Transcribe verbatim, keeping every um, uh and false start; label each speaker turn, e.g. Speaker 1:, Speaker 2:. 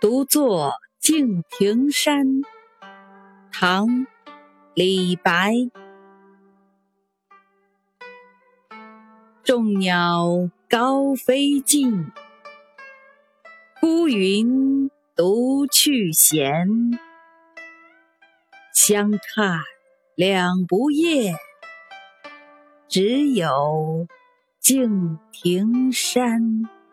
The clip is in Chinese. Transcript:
Speaker 1: 独坐敬亭山，唐·李白。众鸟高飞尽，孤云独去闲。相看两不厌，只有敬亭山。